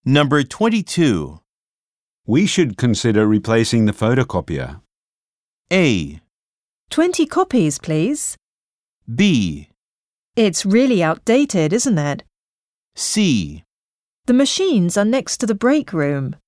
Number 22. We should consider replacing the photocopier. A. 20 copies, please. B. It's really outdated, isn't it? C. The machines are next to the break room.